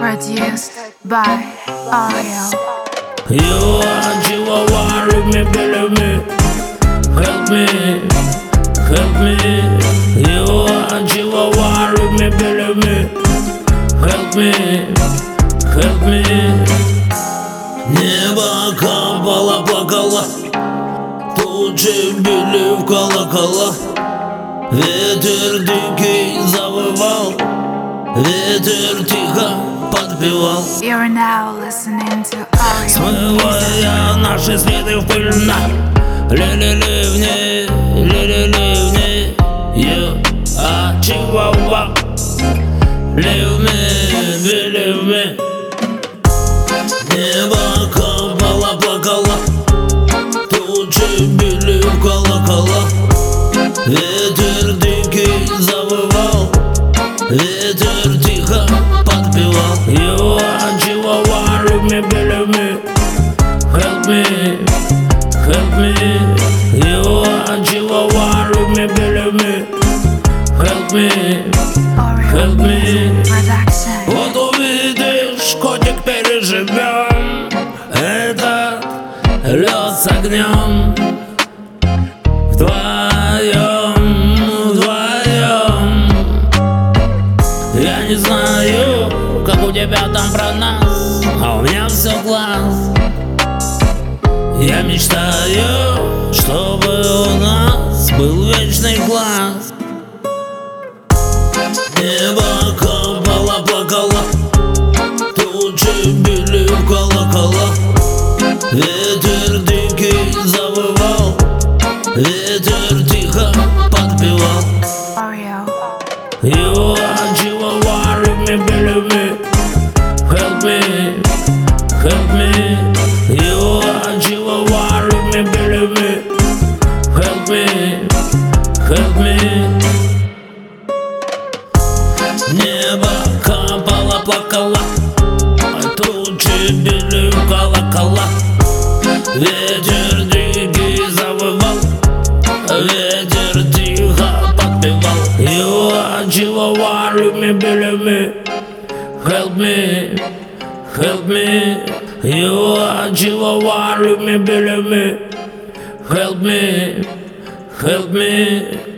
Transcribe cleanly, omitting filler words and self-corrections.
Produced by Ariel. You are Chihuahua, leave me, believe me. Help me, help me. You are Chihuahua, leave me, believe me. Help me, help me. Небо капало, плакало, тучи били в колокола. Ветер дикий завывал, ветер тихо подпевал. You're now listening to Ariel. Смывая наши следы в пыльна. Ли-ли-ливни, ли-ли-ливни. You are Chihuahua. Leave me, believe me. Небо капало, плакало, тучи били в колокола. Ветер дикий завывал, ветер тихо подпевал. You are Chihuahua, leave me, believe me. Help me, help me. You are Chihuahua, leave me, believe me. Help me, help me. Production. Вот увидишь, котик, переживем этот лед с огнем. Вдвоем, вдвоем. Я не знаю, как у тебя там про нас, а у меня все класс. Я мечтаю, чтобы у нас был вечный класс. Небо капало, плакало, тучи били в колокола. Ветер дикий завывал, ветер тихо подпевал. Ariel. You are Chihuahua, leave me, believe me. Help me, help me. You are Chihuahua, leave me, believe me. Help me, help me. Небо капало, плакало, тучи били в колокола. Ветер дикий завывал, ветер тихо подпевал. You are Chihuahua, leave me, believe me. Help me, help me. You are Chihuahua, leave me, believe me. Help me, help me.